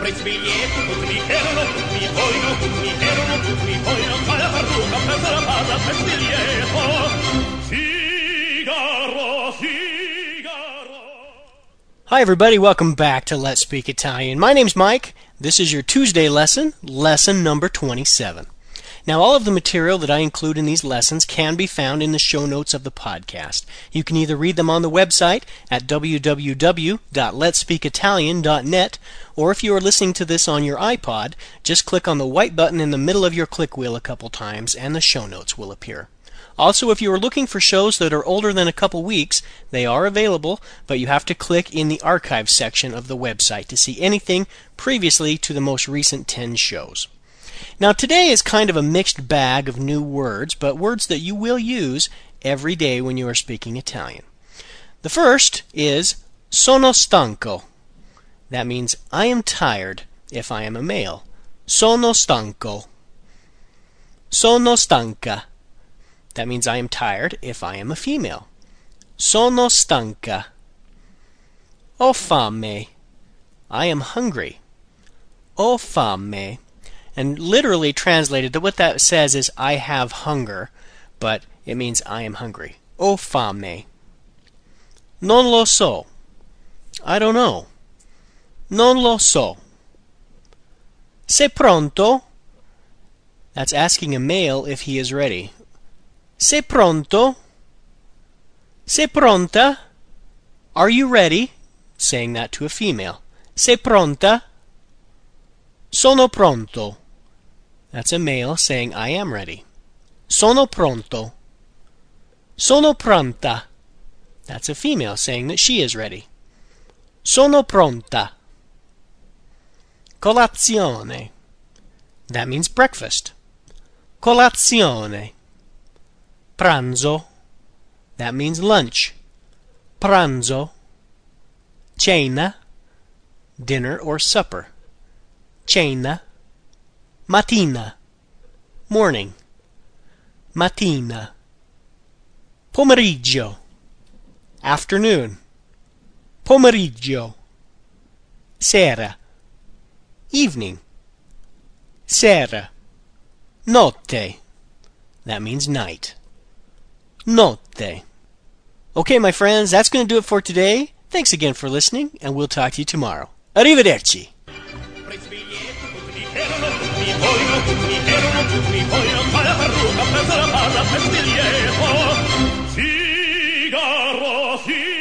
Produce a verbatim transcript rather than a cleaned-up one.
Prezbiglietto, tutti erano, tutti vogliono, tutti erano, tutti vogliono, ma la parrucca presa la palla, Prezbiglietto. Figaro, Figaro. Hi everybody, welcome back to Let's Speak Italian. My name's Mike. This is your Tuesday lesson, lesson number twenty-seven. Now, all of the material that I include in these lessons can be found in the show notes of the podcast. You can either read them on the website at w w w dot lets speak italian dot net, or if you are listening to this on your iPod, just click on the white button in the middle of your click wheel a couple times and the show notes will appear. Also, if you are looking for shows that are older than a couple weeks, they are available, but you have to click in the archive section of the website to see anything previously to the most recent ten shows. Now, today is kind of a mixed bag of new words, but words that you will use every day when you are speaking Italian. The first is sono stanco. That means I am tired if I am a male. Sono stanco. Sono stanca. That means I am tired if I am a female. Sono stanca. Ho fame. I am hungry. Ho fame. And literally translated, what that says is I have hunger, but it means I am hungry. Ho fame. Non lo so. I don't know. Non lo so. Sei pronto? That's asking a male if he is ready. Sei pronto? Sei pronta? Are you ready? Saying that to a female. Sei pronta? Sono pronto. That's a male saying I am ready. Sono pronto. Sono pronta. That's a female saying that she is ready. Sono pronta. Colazione. That means breakfast. Colazione. Pranzo. That means lunch. Pranzo. Cena. Dinner or supper. Cena. Mattina. Morning. Mattina. Pomeriggio. Afternoon. Pomeriggio. Sera. Evening. Sera. Notte. That means night. Notte. Okay, my friends, that's going to do it for today. Thanks again for listening, and we'll talk to you tomorrow. Arrivederci. Tutti vogliono, tutti erano, tutti vogliono, ma la parrucca presa la palla, Prezbiglietto. Figaro, Figaro.